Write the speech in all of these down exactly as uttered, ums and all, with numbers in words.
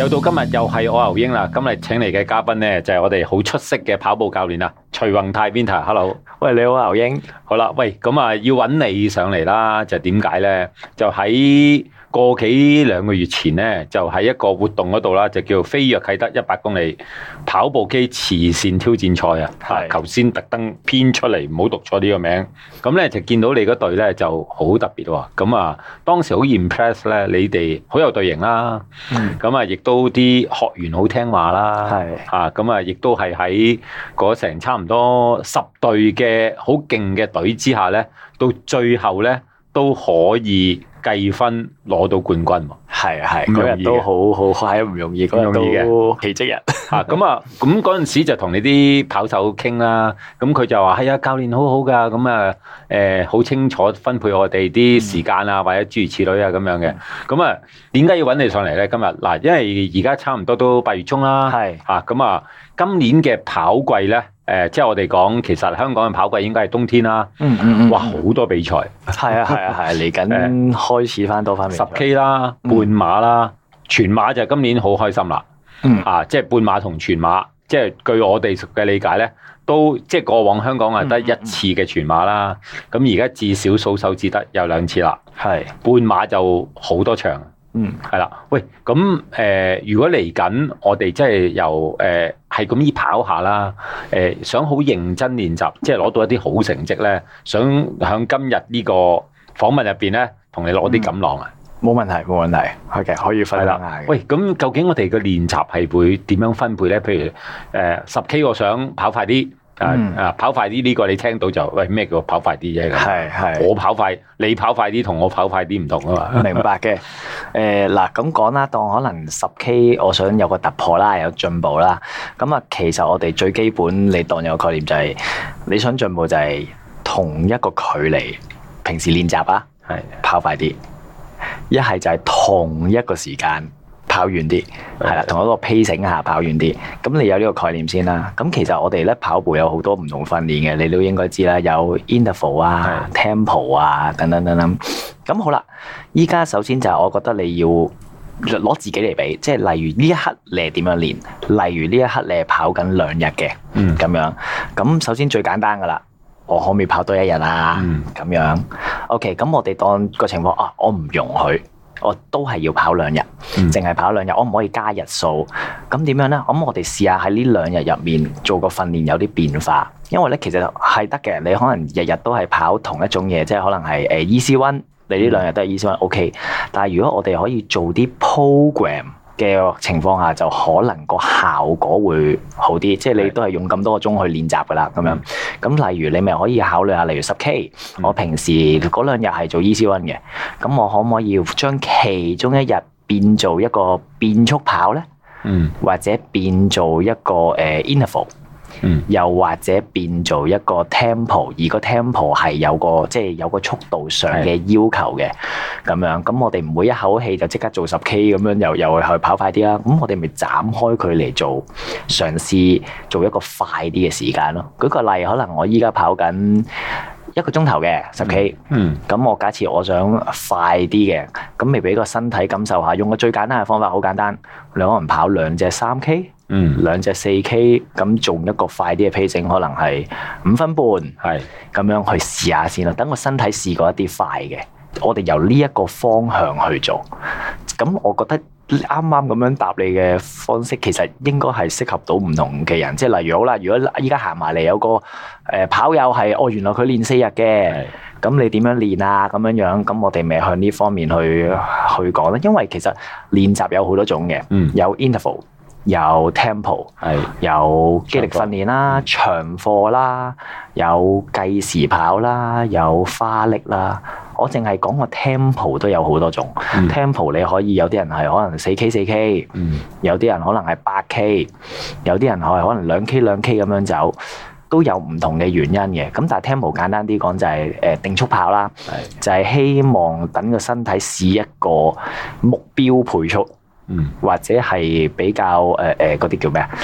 又到今日又係我牛英啦，今日請嚟嘅嘉賓咧就係我哋好出色嘅跑步教練啦，徐宏泰 Winter。Hello， 喂，你好牛英。 好啦，喂，咁啊要揾你上嚟啦，就點解咧？就喺個幾兩個月前咧，就喺一個活動嗰度啦，就叫飛躍啟德一百公里跑步機慈善挑戰賽啊。係，頭先特登編出嚟，唔好讀錯呢個名。咁咧就見到你嗰隊咧就好特別喎。咁啊，當時好 impress 咧，你哋好有隊形啦。咁啊、嗯，亦都啲學員好聽話啦。係啊，咁啊，亦都係喺嗰成差唔多十隊嘅好勁嘅隊之下咧，到最後咧都可以計分攞到冠軍喎。係啊係，嗰日都好好係唔容易，嗰日都奇蹟日。啊咁啊，咁嗰陣時就同你啲跑手傾啦，咁佢就話係啊，教練好好噶，咁啊誒好清楚分配我哋啲時間啊，或者諸如此類啊咁樣嘅。咁啊，點解要揾你上嚟咧？今日嗱，因為而家差唔多都八月中啦，係啊，咁啊，今年嘅跑季咧。誒、呃，即係我哋講，其實香港嘅跑季應該係冬天啦。嗯嗯嗯。哇，好多比賽。係啊係啊係，嚟緊開始翻多翻比賽。十 K 啦，半馬啦，全馬就今年好開心啦。嗯。啊，即係半馬同全馬，即係據我哋嘅理解咧，都即係過往香港係得一次嘅全馬啦。咁而家至少數手指得有兩次啦。係。半馬就好多場。嗯，係啦，喂，咁誒、呃，如果嚟緊我哋即係由誒係咁依跑下啦，誒、呃、想好認真練習，即係攞到一啲好成績咧，想喺今日呢個訪問入邊咧，同你攞啲錦囊啊？冇、嗯、問題，冇問題，係嘅，可以分享下。喂，咁究竟我哋嘅練習係會點樣分配咧？譬如誒十 K，我想跑快啲。啊啊！跑快啲呢個你聽到就喂咩叫跑快啲啫？係係我跑快，你跑快啲同我跑快啲唔同啊嘛。明白嘅。誒嗱咁講啦，當可能十 K，我想有個突破啦，有進步啦。咁啊，其實我哋最基本你當有個概念就係、是、你想進步就係同一個距離，平時練習啊，係跑快啲。一係就係同一個時間。跑遠啲，係啦，同一個 pacing 下跑遠啲。咁你有呢個概念先啦。咁其實我哋咧跑步有好多唔同訓練嘅，你都應該知啦。有 interval 啊、的 tempo 啊等等等等。咁好啦，依家首先就係我覺得你要攞自己嚟比，即係例如呢一刻你係點樣練，例如呢一刻你係跑緊兩日嘅，嗯，咁樣。咁首先最簡單噶啦，我可唔可以跑多一日啊？嗯，咁樣。OK，咁我哋當個情況啊，我唔容許。我都係要跑兩日，淨係、嗯、跑兩日，我唔可以加日數。咁點樣咧？咁我哋試下喺呢兩日入面做個訓練，有啲變化。因為咧，其實係得嘅。你可能日日都係跑同一種嘢，即係可能係誒 easy one，你呢兩日都係 easy one，OK。但係如果我哋可以做啲 program 嘅情況下，就可能個效果會好啲。即係你都係用咁多個鐘去練習噶啦，咁樣。咁例如你咪可以考慮下，例如十 K，我平時嗰兩日係做 easy one 嘅，咁我可唔可以將其中一日變做一個變速跑咧？嗯，或者變做一個誒 interval。嗯，又或者變做一個 tempo，而個 tempo 係有個即係有個速度上嘅要求嘅，咁樣，咁我哋唔會一口氣就即刻做十 K 咁樣，又又去跑快啲啦。咁我哋咪斬開佢嚟做，嘗試做一個快啲嘅時間咯。舉個例，可能我依家跑緊一個鐘頭嘅十 K，嗯，咁我假設我想快啲嘅，咁咪俾個身體感受下，用個最簡單嘅方法，好簡單，你可能跑兩隻三 K。嗯，兩隻四 K 咁做一個快啲嘅 pacing，可能係五分半，係咁樣去試下先啦。等個身體試過一啲快嘅，我哋由呢一個方向去做。咁我覺得啱啱咁樣答你嘅方式，其實應該係適合到唔同嘅人。即係例如好啦，如果依家行埋嚟有個誒跑友係，哦原來佢練四日嘅，咁你點樣練啊？咁樣樣，咁我哋咪向呢方面去去講啦。因為其實練習有好多種嘅，嗯，有 interval。有 tempo，係有肌力訓練啦、長課啦、有計時跑啦、有花力啦。我淨係講個 tempo 都有好多種。嗯、tempo 你可以有啲人係可能四 K 四 K，嗯、有啲人可能係八 K， 有啲人係可能兩 K 兩 K 咁樣走，都有唔同嘅原因嘅。咁但係 tempo 簡單啲講就係誒定速跑啦，是就係希望等個身體試一個目標配速。嗯，或者係比較誒誒嗰啲叫咩啊？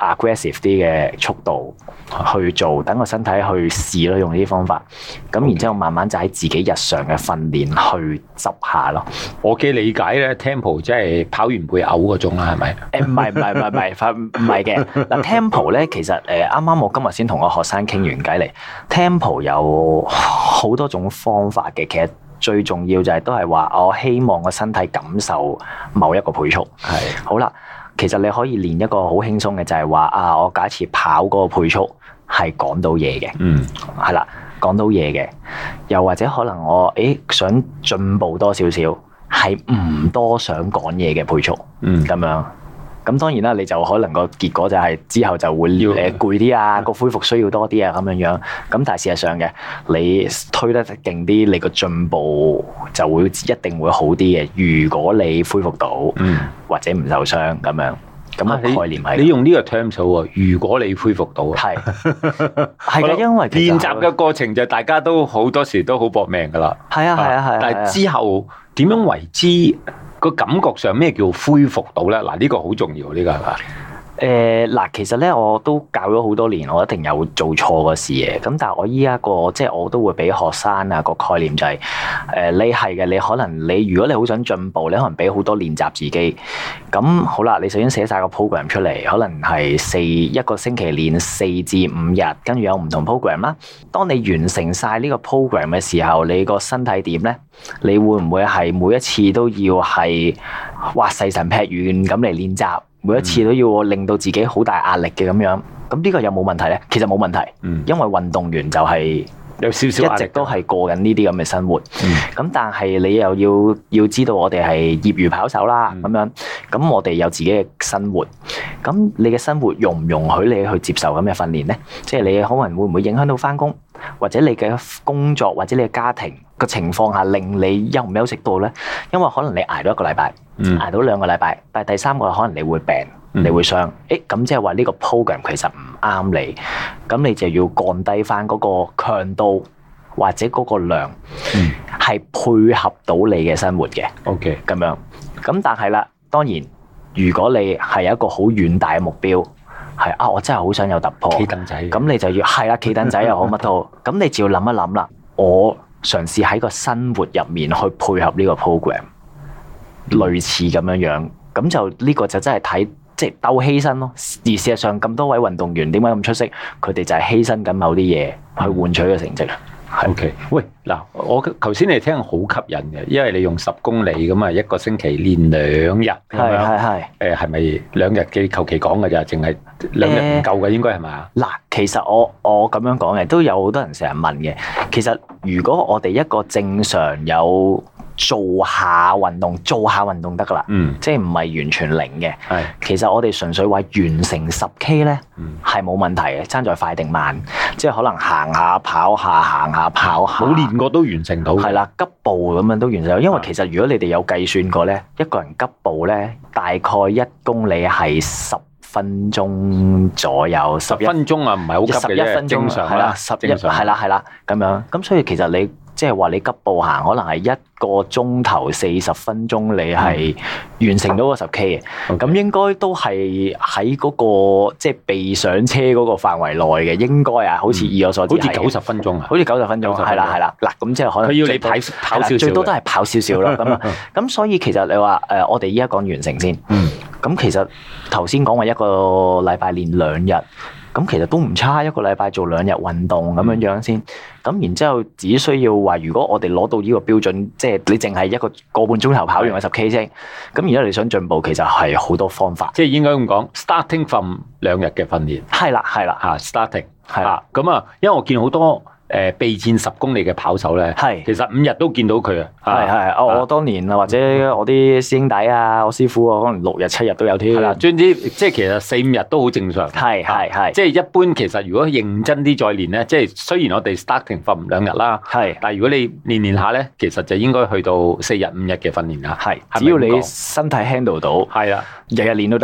aggressive 啲嘅速度去做，等個身體去試咯，用呢啲方法。咁然之後慢慢就喺自己日常嘅訓練去執下咯。 我嘅理解咧 ，tempo 即係跑完會嘔嗰種啦，係咪？ 誒唔係唔係唔係唔係唔係嘅。嗱 tempo 咧，其實誒啱啱我今日先同個學生傾完偈嚟 tempo 有好多種方法嘅，其實。最重要就係都係話，我希望個身體感受某一個配速。係是好啦，其實你可以練一個好輕鬆嘅，就係話啊，我假設跑嗰個配速係講到嘢嘅，嗯，係啦，講到嘢嘅，又或者可能我誒想進步多少少，係唔多想講嘢嘅配速，嗯，咁樣。咁當然啦，你就可能個結果就係之後就會誒攰啲啊，個恢復需要多啲啊咁樣樣。咁但係事實上嘅，你推得勁啲，你個進步就會一定會好啲嘅。如果你恢復到，嗯、或者唔受傷咁樣，咁個概念係、啊、 你，你用呢個 term 數喎。如果你恢復到，係係嘅，因為練習嘅過程就大家都好多時都好搏命噶啦。係啊係啊係啊，但係之後點樣為之？個感覺上咩叫恢復到咧？嗱，呢個好重要，呢個係嘛？ 誒嗱，其實咧我都教咗好多年，我一定有做錯嘅事嘅。咁但係我依家個即係我都會俾學生啊個概念就係、是、誒、呃，你係嘅，你可能你如果你好想進步，你可能俾好多練習自己。咁好啦，你首先寫晒個 program 出嚟，可能係四一個星期練四至五日，跟住有唔同 program 啦。當你完成晒呢個 program 嘅時候，你個身體點咧？你會唔會係每一次都要係哇細神劈遠咁嚟練習？每一次都要令到自己好大壓力嘅咁樣，咁呢個有冇問題咧？其實冇問題，嗯、因為運動員就係有少少一直都係過緊呢啲咁嘅生活。咁、嗯、但係你又要要知道，我哋係業餘跑手啦，咁、嗯、樣，咁我哋有自己嘅生活。咁你嘅生活容唔容許你去接受咁嘅訓練咧？即係你可能會唔會影響到返工，或者你嘅工作，或者你嘅家庭嘅情況下，令你休唔休息到咧？因為可能你捱到一個禮拜。嗯、捱到兩個禮拜，但係第三個可能你會病，嗯、你會傷，誒咁即係話呢個 program 其實唔啱你，咁你就要降低翻嗰個強度或者嗰個量，係、嗯、配合到你嘅生活嘅。OK，咁樣，咁但係啦，當然如果你係有一個好遠大嘅目標，係啊，我真係好想有突破，企凳仔，咁你就要係啦，企凳仔又好乜都好，咁你就要諗一諗啦，我嘗試喺個生活入面去配合呢個 program。類似咁樣樣，咁就呢個就真係睇即係鬥犧牲咯。而事實上咁多位運動員點解咁出色？佢哋就係犧牲緊某啲嘢去換取個成績。O K，喂，嗱，我頭先你聽好吸引嘅，因為你用十公里咁啊，一個星期練兩日，係係係，誒係咪兩日嘅求其講嘅咋？淨係兩日唔夠嘅，應該係咪？嗱，其實我我咁樣講嘅，都有好多人成日問嘅。其實如果我哋一個正常有做下運動，做下運動得噶啦，嗯，即係唔係完全零嘅。係，其實我哋純粹話完成十 K 咧，係冇問題嘅，爭在快定慢，即係可能行下跑下，行下跑下，冇練過都完成到。係啦，急步咁樣都完成到，因為其實如果你哋有計算過咧，一個人急步咧，大概一公里係十分鐘左右，十分鐘啊，唔係好急嘅啫，十一分鐘正常啦，十一係啦係啦咁樣，咁所以其實你。即係話你急步行，可能係一個鐘頭四十分鐘，你係完成到個十 K 嘅。咁 Okay. 應該都係喺嗰個即係被上車嗰個範圍內嘅，應該啊，好似以我所知，好似九十分鐘啊，好似九十分鐘，係啦係啦。嗱，咁即係可能佢要你跑跑少少，最多都係跑少少啦。咁啊，咁所以其實你話誒，我哋依家講完成先。嗯。咁其實頭先講話一個禮拜練兩日。咁其實都唔差，一個禮拜做兩日運動咁樣樣先。咁、嗯、然之後只需要話，如果我哋攞到呢個標準，即係你淨係一個個半鐘頭跑完個十 K 啫。咁而家你想進步，其實係好多方法。即係應該咁講 ，starting from 兩日嘅訓練。係啦，係啦，嚇 starting 係啦。咁啊，因為我見好多。誒備戰十公里嘅跑手咧，係是其實五日都見到佢啊！係係，我我當年啊，或者我啲師兄弟啊，我師傅啊，可能六日七日都有添。係啦，總之即係其實四五日都好正常。係係係，即係一般其實如果認真啲再練咧，即係雖然我哋 starting 訓兩日啦，係是，但係如果你練練下咧，其實就應該去到四日五日嘅訓練啦。係，只要你身體 handle 到，係啊，日日練都得㗎。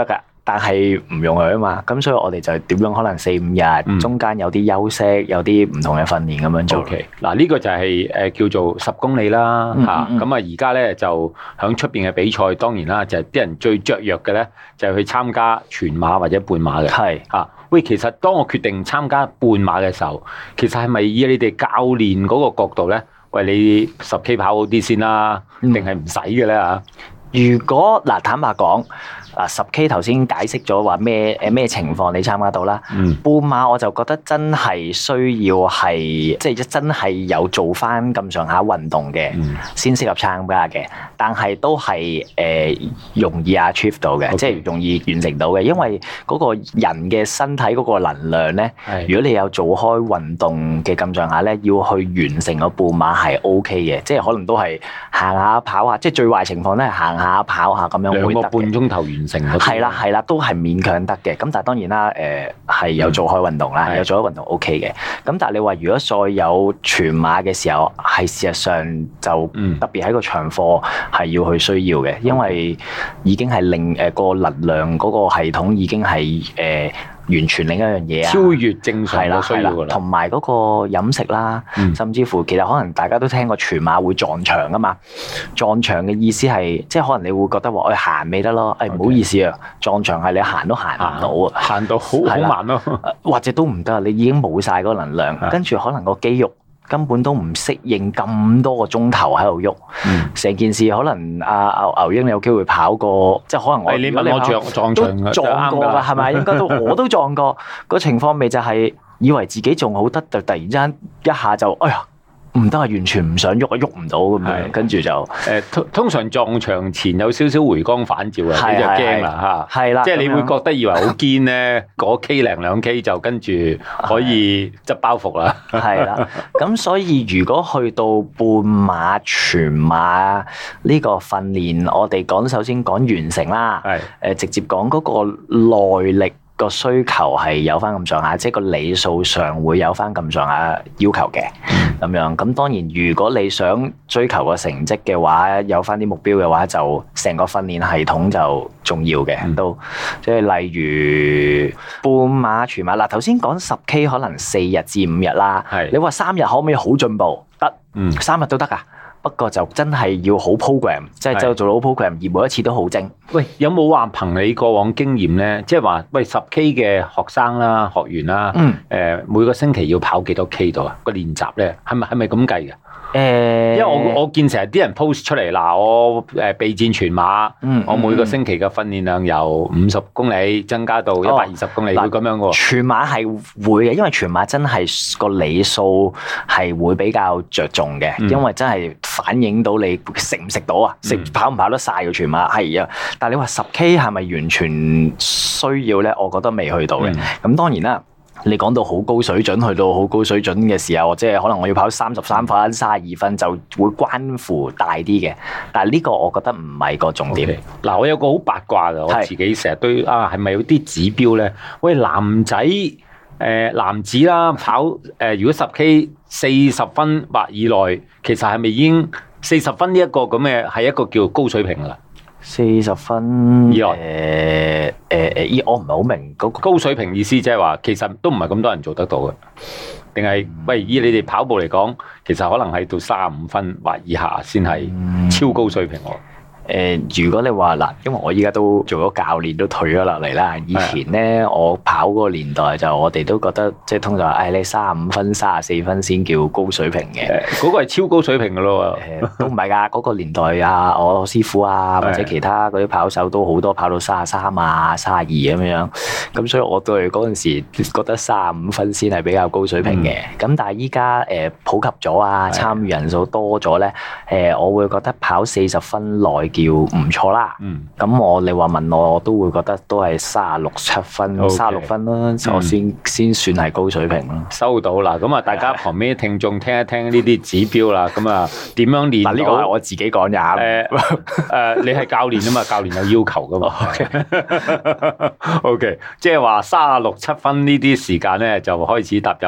但係唔容許啊嘛。咁所以我哋就點樣可能四五日，嗯、中間有啲休息，有啲唔同嘅訓練咁樣做。 OK，嗱呢個就係誒叫做十公里啦嚇。咁、嗯嗯、啊而家咧就響出邊嘅比賽，當然啦，就係啲人最雀躍嘅咧，就係去參加全馬或者半馬嘅。係嚇是。喂，其實當我決定參加半馬嘅時候，其實係咪以你哋教練嗰個角度咧？喂，你十 K 跑好啲先啦，定係唔使嘅咧嚇？ 如果嗱，坦白講。啊十 K 頭先解釋咗話咩誒咩情況你參加到啦，嗯、半馬我就覺得真係需要係即係真係有做翻咁上下運動嘅，嗯、先適合參加嘅。但係都係誒、呃、容易 achieve 到嘅，Okay. 即係容易完成到嘅。因為嗰個人嘅身體嗰個能量咧，是如果你有做開運動嘅咁上下咧，要去完成個半馬係 OK 嘅，即係可能都係行下跑下，即係最壞情況咧行下跑下咁樣會得嘅。兩個半鐘頭完。係啦，係啦，都係勉強得嘅。咁但係當然啦，誒、呃、係有做開運動啦，嗯、有做開運動 O K 嘅。咁但係你話如果再有全馬嘅時候，係事實上就特別喺個長課係要去需要嘅，嗯、因為已經係令誒個能量嗰個系統已經係誒。呃完全另一樣嘢啊！ 超越正常嘅需要㗎啦， 同埋嗰個飲食啦，嗯、甚至乎其實可能大家都聽過全馬會撞牆㗎嘛。撞牆嘅意思係，即係可能你會覺得話，誒行未得咯，誒唔好意思啊，撞牆係你行都行唔到啊， 行到好好慢咯， 或者都唔得，你已經冇晒嗰個能量，跟住可能個肌肉。根本都唔適應咁多個鐘頭喺度喐，成、嗯、件事可能阿牛牛英你有機會跑過，即係可能我你問我撞撞牆都撞過㗎，係咪？應該都我都撞過。個情況咪就係以為自己仲好得，就突然之間一下就哎呀〜唔得啊！完全唔想喐啊，喐唔到咁樣，跟住就誒通通常撞牆前有少少回光返照啊，你就驚啦嚇。係啦，即係你會覺得以為好堅咧，嗰 K 零兩 K 就跟住可以執包袱啦。係啦， 咁所以如果去到半馬、全馬呢個訓練，我哋講首先講完成啦，係誒直接講嗰個耐力。個需求係有翻咁上下，即係個里數上會有翻咁上下要求嘅咁樣。咁當然，如果你想追求個成績嘅話，有翻啲目標嘅話，就成個訓練系統就重要嘅。嗯、都即係例如半馬、全馬嗱，頭先講十 K 可能四日至五日啦。係是你話三日可唔可以好進步？得，嗯，三日都得㗎。不過就真係要好 program，即係就做到好 program，而每一次都好精。 喂，有冇話憑你過往經驗咧？即係話，喂十 K 嘅學生啦、學員啦，誒、嗯呃、每個星期要跑幾多 K 度啊？個練習咧係咪係咪咁計嘅？誒，因為我我見成日啲人 post 出嚟嗱，我誒備戰全馬，嗯嗯、我每個星期嘅訓練量由五十公里增加到一百二十公里，哦、會咁樣嘅喎。 全馬係會嘅，因為全馬真係個里數係會比較着重嘅，嗯、因為真係反映到你食唔食到啊，食、嗯、跑唔跑得晒嘅全馬係啊。但係你話十 K 係咪完全需要咧？我覺得未去到嘅。咁、嗯、當然啦。你講到好高水準，去到好高水準嘅時候，即係可能我要跑三十三分、三十二分，就會關乎大啲嘅。但係呢個我覺得唔係個重點。嗱，okay. 我有個好八卦嘅，我自己成日都啊，係咪有啲指標咧？喂，男仔誒、呃、男子啦，跑誒、呃、如果十 K 四十分或以內，其實係咪已經四十分呢一個咁嘅係一個叫高水平㗎啦？ 四十分以內， 誒誒誒，依我唔係好明嗰個高水平意思，即係話其實都唔係咁多人做得到嘅，定係、嗯、喂以你哋跑步嚟講，其實可能係到三十五分或以下先係超高水平喎。 誒、呃，如果你話嗱，因為我依家都做咗教練，都退咗落嚟啦。以前咧，的我跑嗰個年代就我哋都覺得，即係通常誒、哎，你三十五分、三十四分先叫高水平嘅。 嗰、那個係超高水平噶咯。 誒、呃，都唔係㗎。嗰、那個年代啊，我師傅啊，或者其他嗰啲跑手都好多跑到三十三啊、三十二咁樣。咁所以我對嗰陣時覺得三十五分先係比較高水平嘅。咁、嗯、但係依家誒普及咗啊，參與人數多咗咧，誒、呃，我會覺得跑四十分內叫唔錯啦，咁、嗯、我你話問我，我都會覺得都係三十六七分、三十六分啦，我先、嗯、先算係高水平咯。 收到啦，咁啊，大家旁邊嘅聽眾聽一聽呢啲指標啦，咁啊點樣練？嗱，呢個係我自己講咋。誒誒、呃呃，你係教練啊嘛，教練有要求噶嘛。O K， 即係話三十六七分呢啲時間咧，就開始踏入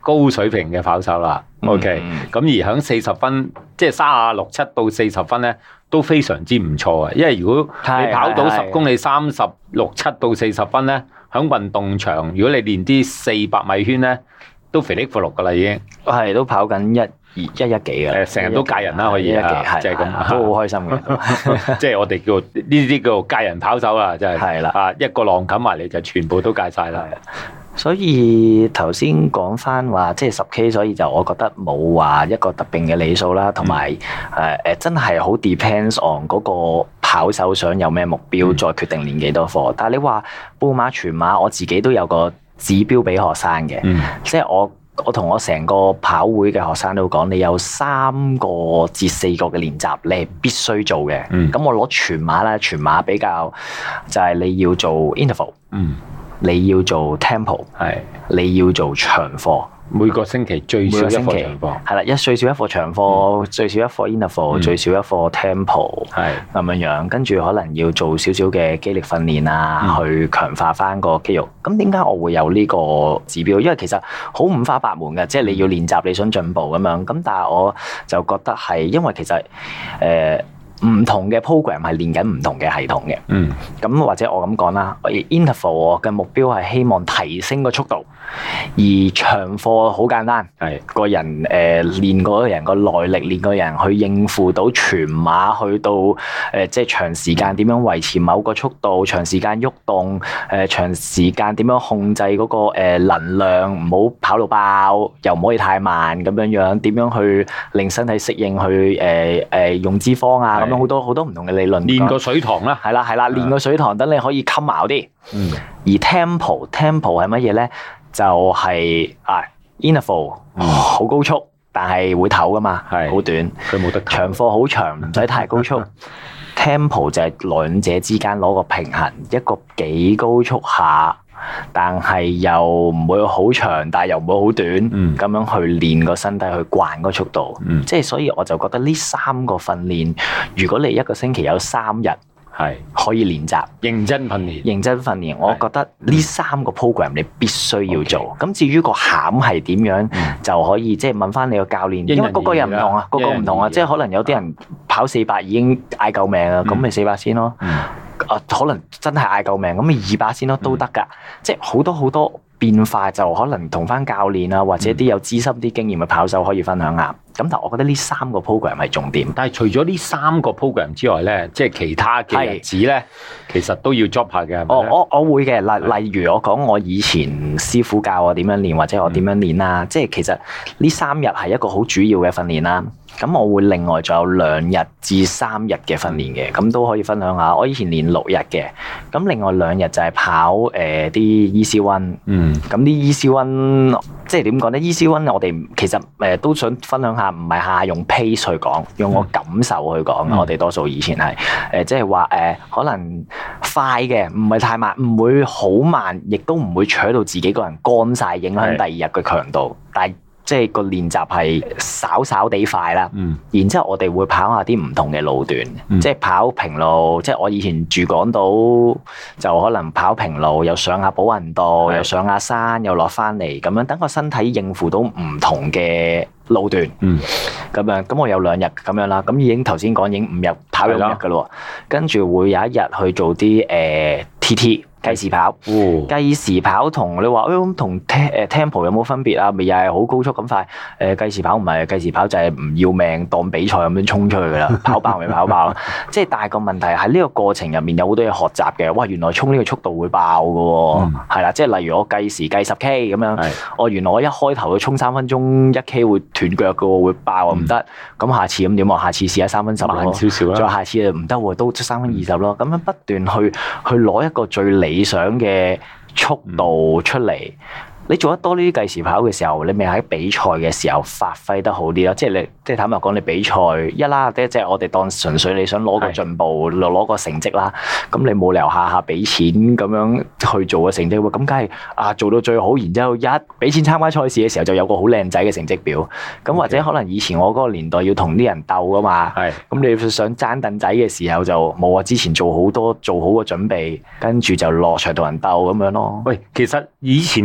高水平嘅跑手啦。OK，咁、嗯、而響四十分，即係三十六七到四十分咧，都非常之唔錯嘅。因為如果你跑到十公里三十六七到四十分咧，響運動場，如果你練啲四百米圈咧，都肥力闊碌噶啦已經。 係都跑緊一。一一幾嘅， 誒成日都介人啦，可以啊，即係咁， 都好開心嘅。 即係我哋叫呢啲叫做介人跑手啊，真係係啦， 啊一個浪冚埋嚟就全部都介晒啦。 所以頭先講翻話，即係十 K，所以就我覺得冇話一個特定嘅里數啦，同埋誒誒真係好 depends on 嗰個跑手想有咩目標，嗯、再決定練幾多課。但係你話半馬、全馬，我自己都有個指標俾學生嘅，嗯、即係我。我同我成個跑會嘅學生都講，你有三個至四個嘅練習，你係必須做嘅。咁、嗯、我攞全馬啦，全馬比較就係你要做 interval，、嗯、你要做 tempo， 係你要做長課。 每個星期最少一課長課， 係啦，一最少一課長課，嗯、最少一課 interval，、嗯、最少一課 tempo， 係咁樣樣。跟住可能要做少少嘅肌力訓練啊，嗯、去強化翻個肌肉。咁點解我會有呢個指標？因為其實好五花八門嘅，即係你要練習，你想進步咁樣。咁但係我就覺得係，因為其實誒。呃唔同嘅 program 係練緊唔同嘅系統嘅，嗯，咁或者我咁講啦 ，interval 我嘅目標係希望提升個速度，而長課好簡單，係個人誒、呃、練個人個耐力，練個人去應付到全馬，去到誒、呃、即係長時間點樣維持某個速度，長時間喐動，誒、呃、長時間點樣控制嗰、那個誒、呃、能量，唔好跑到爆，又唔可以太慢咁樣樣，點樣去令身體適應，去誒誒、呃、用脂肪啊。咁樣好多好多唔同嘅理論， 練個水塘啦， 係啦係啦，練個水塘等你可以襟咬啲。嗯，而 tempo tempo 係乜嘢咧？就係、是、啊 interval 好高速，但係會唞噶嘛，係好短， 佢冇得唞。長課好長，唔使太高速。tempo 就係兩者之間攞個平衡，一個幾高速下。但係又唔會好長，但係又唔會好短，咁、嗯、樣去練個身體去慣個速度，嗯、即係所以我就覺得呢三個訓練，如果你一個星期有三日係可以練習， 認真訓練， 認真訓練，我覺得呢三個 program 你必須要做。咁、嗯、至於個餡係點樣，嗯、就可以即係問翻你個教練，因為個個人唔同啊，個個唔同啊，即係可能有啲人跑四百已經嗌救命啊，咁咪四百先咯。嗯啊，可能真係嗌救命，咁咪二百先咯，都得㗎。嗯、即係好多好多變化，就可能同翻教練啊，或者啲有資深啲經驗嘅跑手可以分享下。咁但係我覺得呢三個 program 係重點。 但係除咗呢三個 program 之外咧，即係其他嘅日子咧，是其實都要 job 下嘅。 哦，我我會嘅。例例如我講我以前師傅教我點樣練，或者我點樣練啦。嗯、即係其實呢三日係一個好主要嘅訓練啦。咁我會另外仲有兩日至三日嘅訓練嘅，咁都可以分享下。我以前練六日嘅，咁另外兩日就係跑誒啲 easy run。嗯。咁啲 easy run 即係點講咧？easy run 我哋其實誒都想分享下，唔係下下用 pace 去講，用我感受去講。嗯、我哋多數以前係誒，即係話誒，可能快嘅，唔係太慢，唔會好慢，亦都唔會扯到自己個人乾晒，影響第二日嘅強度，是但係。即係個練習係稍稍地快啦，嗯、然之後我哋會跑下啲唔同嘅路段，嗯、即係跑平路。即係我以前住港島，就可能跑平路，又上下寶雲道，是又上下山，又落翻嚟，咁樣等個身體應付到唔同嘅路段。咁、嗯、樣咁我有兩日咁樣啦，咁已經頭先講已經五日跑兩日噶咯，跟住的會有一日去做啲誒、呃、T T。計時跑，計時跑同你話誒同 tempo 有冇分別啊？咪又係好高速咁快？誒、呃、計時跑唔係，計時跑就係唔要命當比賽咁樣衝出去噶啦，跑爆咪跑爆。即係但係個問題喺呢個過程入面有好多嘢學習嘅。哇！原來衝呢個速度會爆噶喎，係啦、嗯，即係例如我計時計十 K 咁樣，我的原來我一開頭去衝三分鐘一 K 會斷腳噶喎，會爆啊唔得。咁、嗯、下次咁點啊？下次試下三分十咯，少少啦。再下次唔得喎，都三分二十咯。咁樣不斷去去攞一個最理想嘅速度出嚟，嗯、你做得多呢啲計時跑嘅時候，你咪喺比賽嘅時候發揮得好啲咯。即係你，即係坦白講，你比賽一啦，即係我哋當純粹你想攞個進步，攞是個成績啦。咁你冇理由下下俾錢咁樣去做個成績喎。咁梗係啊，做到最好，然之後一俾錢參加賽事嘅時候，就有個好靚仔嘅成績表。咁 Okay. 或者可能以前我嗰個年代要同啲人鬥噶嘛，咁是你想爭凳仔嘅時候就冇啊。之前做好多做好個準備，跟住就落場同人鬥咁樣咯。 喂，其實以前個年代嗰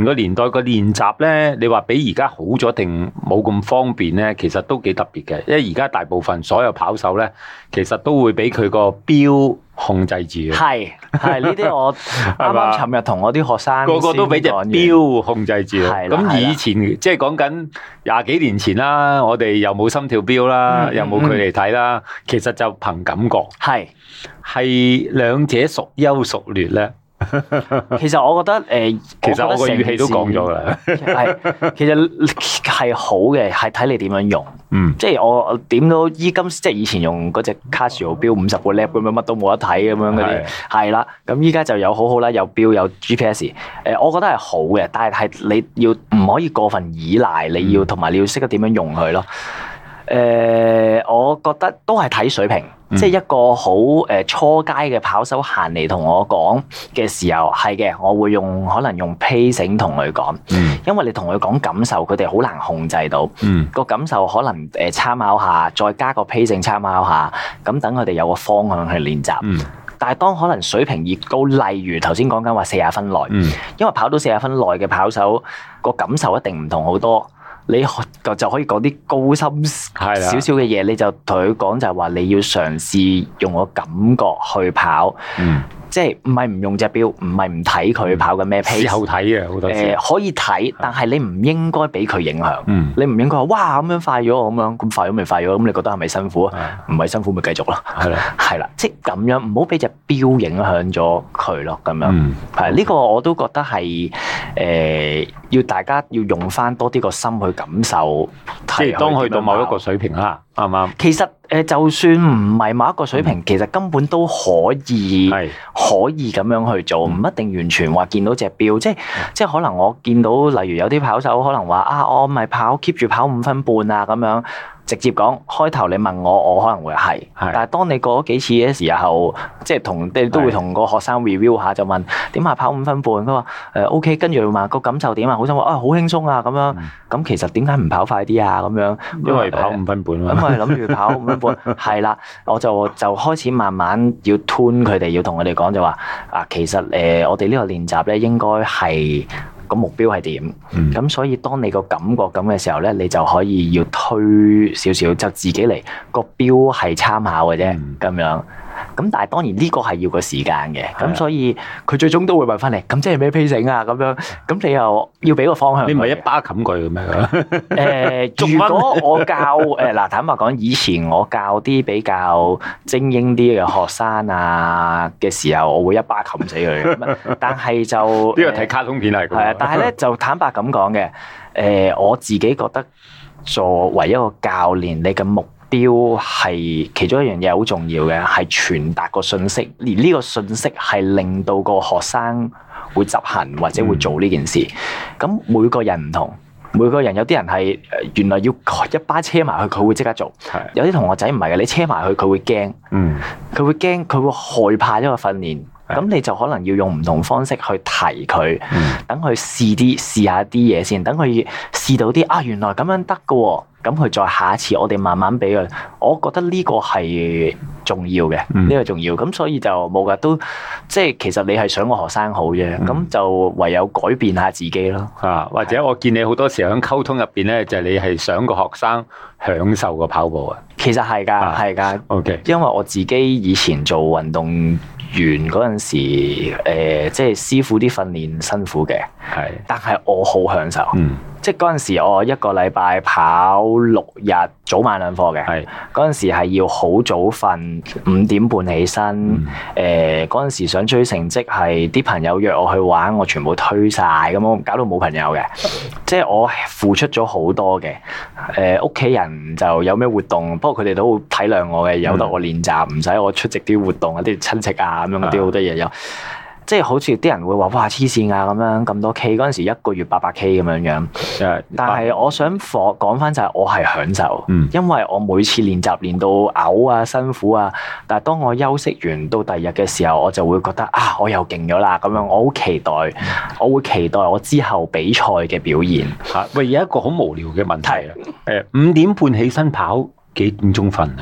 個練習咧，你話比而家好咗定冇咁方便咧？其實都幾特別嘅，因為而家大部分所有跑手咧，其實都會俾佢個錶控制住嘅。係係呢啲我啱啱尋日同我啲學生個個都俾隻錶控制住。咁以前即係講緊廿幾年前啦，我哋又冇心跳錶啦，嗯、又冇距離睇啦，嗯、其實就憑感覺。係係兩者孰優孰劣咧？ 其實我覺得誒，呃、 其實我個語氣都講咗啦， 係其實係好嘅，係睇你點樣用。嗯，即係我點到依今，即係以前用嗰隻 Casio 錶五十個 lap 咁樣，乜都冇得睇咁樣嗰啲，係啦。咁依家就有好好啦，有錶有 G P S。誒，我覺得係好嘅，但係係你要唔可以過分依賴，你要同埋你要識得點樣用佢咯。誒、呃，我覺得都係睇水平，嗯、即係一個好誒初階嘅跑手行嚟同我講嘅時候，係嘅，我會用可能用 pacing 同佢講，嗯、因為你同佢講感受，佢哋好難控制到，嗯、個感受可能誒參考下，再加個 pacing 參考下，咁等佢哋有個方向去練習。嗯、但係當可能水平越高，例如頭先講緊話四十分內，嗯、因為跑到四十分內嘅跑手個感受一定唔同好多。你就就可以講啲高深少少嘅嘢，你就同佢講就係話你要嘗試用個感覺去跑，嗯、即係唔係唔用隻錶，唔係唔睇佢跑緊咩 pace。事後睇嘅好多時。誒、呃、可以睇，但係你唔應該俾佢影響。嗯、你唔應該話哇咁樣快咗咁樣，咁快咗咪快咗，咁你覺得係咪辛苦啊？唔係、嗯、辛苦咪繼續咯。係啦，係啦，即係咁樣，唔好俾隻錶影響咗佢咯。咁樣係呢、嗯呢個我都覺得係誒、呃、要大家要用翻多啲個心去感受，即係當去到某一個水平啦，啱唔啱？其實誒，就算唔係某一個水平，嗯、其實根本都可以，是可以咁樣去做，唔、嗯、一定完全話見到隻錶，即係、嗯、即係可能我見到，例如有啲跑手可能話啊，我咪跑 keep 住跑五分半啊咁樣。直接講，開頭你問我，我可能會係，是但係當你過咗幾次嘅時候，即係同你都會同個學生 review 下，就問點啊跑五分半，佢話誒 OK，跟住問個感受點啊，好想話啊好輕鬆啊咁樣，咁、嗯、其實點解唔跑快啲啊咁樣？因為跑五分半啊，咁我諗住跑五分半，係啦，我就就開始慢慢要 tune 佢哋，要同佢哋講就話啊，其實誒、呃、我哋呢個練習咧應該係。個目標係點？咁、嗯、所以當你個感覺咁嘅時候咧，你就可以要推少少，就自己嚟。個標係參考嘅啫，咁、嗯、樣。咁但係當然呢個係要個時間嘅，咁的所以佢最終都會問翻你，咁即係咩 pacing 啊？咁樣，咁你又要俾個方向。你唔係一巴冚佢嘅咩？誒、呃，如果我教誒嗱，坦白講，以前我教啲比較精英啲嘅學生啊嘅時候，我會一巴冚死佢。但係就呢個睇卡通片係。係啊，但係咧就坦白咁講嘅，誒、呃，我自己覺得作為一個教練，你嘅目標係其中一樣嘢好重要嘅，係傳達個信息，而呢個信息係令到個學生會執行或者會做呢件事。咁、嗯、每個人唔同，每個人有啲人係原來要一巴車埋去，佢會即刻做；的有啲同學仔唔係嘅，你車埋去佢會驚，嗯，佢會驚，佢會害怕一個訓練。咁你就可能要用唔同方式去提佢，等佢試啲試下啲嘢先，等佢試到啲啊，原來咁樣得㗎喎，咁佢再下一次我哋慢慢俾佢。我覺得呢個係重要嘅，呢、嗯、個重要。咁所以就冇㗎，都即係其實你係想個學生好啫，咁、嗯、就唯有改變下自己咯。啊，或者我見你好多時候喺溝通入邊咧，就係、是、你係想個學生享受個跑步啊。其實係㗎，係㗎、啊。OK，因為我自己以前做運動員嗰陣時，誒、呃，即係師傅啲訓練辛苦嘅，係是，但係我好享受，嗯，即係嗰陣時我一個禮拜跑六日，早晚兩課嘅，係是，嗰陣時係要好早瞓，五點半起身，誒、嗯，嗰陣、呃、時想追成績，係啲朋友約我去玩，我全部推晒，咁我搞到冇朋友嘅，即係我付出咗好多嘅，誒、呃，屋企人就有咩活動，不過佢哋都會體諒我嘅，由得我練習，唔使我出席啲活動啊，啲親戚啊。咁樣嗰啲好多嘢有，即係好似啲人會話哇黐線啊咁樣咁多 K 嗰陣時一個月八百 K 咁樣樣，但係我想講翻就係我係享受，嗯、因為我每次練習練到嘔啊辛苦啊，但係當我休息完到第二日嘅時候，我就會覺得啊我又勁咗啦咁樣，我好期待，我會期待我之後比賽嘅表現。嚇喂，有一個好無聊嘅問題啊，誒五點半起身跑幾點鐘瞓啊？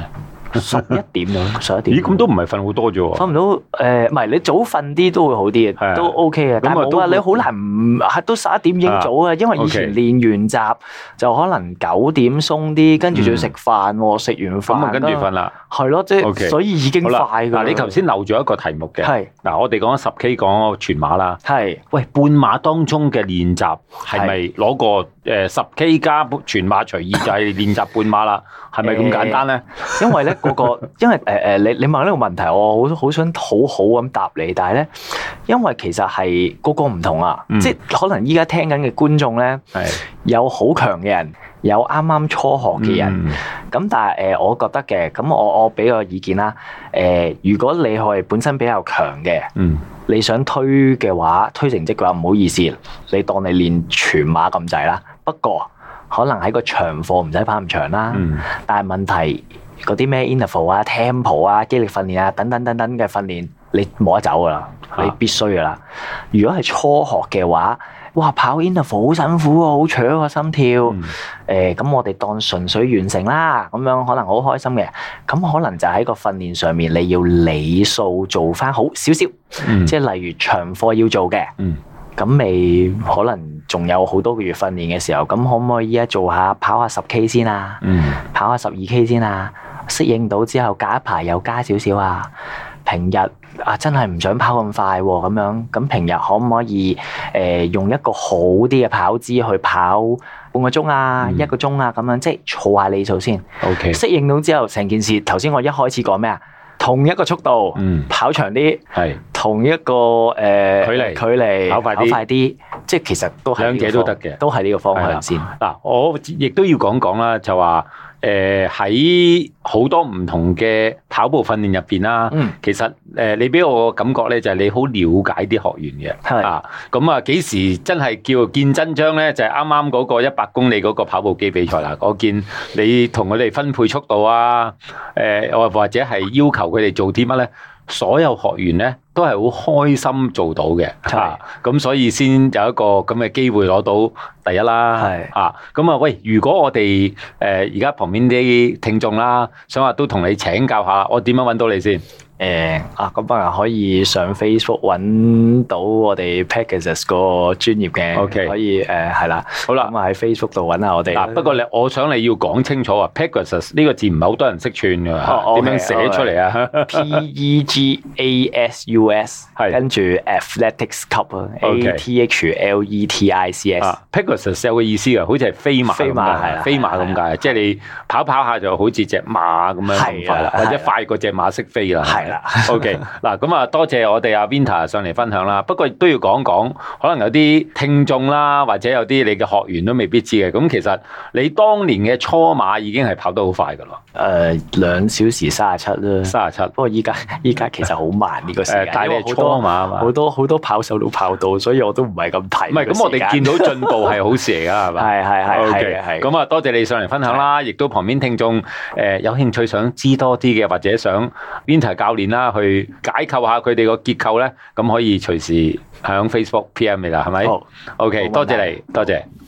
十一點咯，十一點。 咦，咁都唔係瞓好多啫喎。 瞓唔到誒，唔係你早瞓啲都會好啲嘅，都 OK 嘅。但係冇話你好難唔係都十一點已經早啊，因為以前練完習就可能九點鬆啲，跟住仲要食飯喎，食完飯咁啊跟住瞓啦。 係咯，即係所以已經快㗎。 嗱，你頭先漏咗一個題目嘅。係。嗱，我哋講十 K 講全馬啦。係。喂，半馬當中嘅練習係咪攞個誒十 K 加全馬隨意就係練習半馬啦？係咪咁簡單咧？ 因為咧嗰個，因為誒誒，你你問呢個問題，我好好想好好咁答你，但係咧，因為其實係個個唔同啊，即係可能依家聽緊嘅觀眾咧，有好強嘅人，有啱啱初學嘅人，咁但係誒，我覺得嘅，咁我我俾個意見啦，誒，如果你係本身比較強嘅，你想推嘅話，推成績嘅話，唔好意思，你當你練全馬咁滯啦。不過可能喺個長課唔使跑咁長啦，嗯、但係問題嗰啲咩 interval 啊、tempo 啊、肌力訓練啊等等等等嘅訓練，你冇得走噶啦，啊、你必須噶啦。如果係初學嘅話，哇跑 interval 好辛苦啊，好搶個心跳。誒、嗯，咁、呃、我哋當純粹完成啦，咁樣可能好開心嘅。咁可能就喺個訓練上面，你要理數做翻好少少，嗯、即係例如長課要做嘅。嗯咁未可能仲有好多個月訓練嘅時候，咁可唔可以依家做下跑下十 K 先啊？嗯、跑下十二 K 先啊？適應到之後，隔一排又加少少啊？平日啊，真係唔想跑咁快喎，咁樣咁平日可唔可以誒、呃、用一個好啲嘅跑姿去跑半個鐘啊、嗯、一個鐘啊咁樣，即係儲下里數先。OK，適應到之後，成件事頭先我一開始講咩啊？同一個速度，嗯、跑長啲，係是同一個誒、呃、距離，距離跑快啲，跑快啲，即係其實都係兩者都得嘅，都係呢個方向先。 嗱，我亦都要講講啦，就話誒喺好多唔同嘅跑步訓練入邊啦，嗯、其實誒、呃、你俾我感覺咧，就係你好了解啲學員嘅，係是啊，咁啊幾時真係叫見真章咧？就係啱啱嗰個一百公里嗰個跑步機比賽啦。我見你同佢哋分配速度啊，誒、呃、或者係要求佢哋做啲乜咧？所有學員咧都係好開心做到嘅，嚇咁是、啊、所以先有一個咁嘅機會攞到第一啦，係啊咁啊喂！如果我哋誒而家旁邊啲聽眾啦，想話都同你請教下，我點樣揾到你先？ 誒啊咁啊可以上 Facebook 揾到我哋 Pegasus 個專頁嘅，OK 可以誒係啦，好啦咁啊喺 Facebook 度揾下我哋。嗱不過你我想你要講清楚啊 Pegasus 呢個字唔係好多人識串㗎，點樣寫出嚟啊 ？P E G A S U S 係跟住 Athletics Cup 啊 ，A T H L E T I C S。 Pegasus 有個意思啊，好似係飛馬，飛馬係啦，飛馬咁解，即係你跑跑下就好似隻馬咁樣咁快啦，或者快過隻馬識飛啦。OK，嗱咁啊，多謝我哋阿 Winter 上嚟分享啦。不過都要講講，可能有啲聽眾啦，或者有啲你嘅學員都未必知嘅。咁其實你當年嘅初馬已經係跑得好快噶咯。 誒、呃，兩小時三十七啦， 三十七。不過依家依家其實好慢呢個時間。誒， 但係你係初馬啊嘛， 好多好多跑手都跑到，所以我都唔係咁睇。 唔係，咁我哋見到進步係好事嚟噶，係嘛？ 係係係係係。 咁啊，多謝你上嚟分享啦，亦都旁邊聽眾誒有興趣想知多啲嘅，或者想 Winter 教練啦。去解構下佢哋個結構咧，咁可以隨時響 Facebook P M 你啦，係咪？好，OK，多謝你，多謝。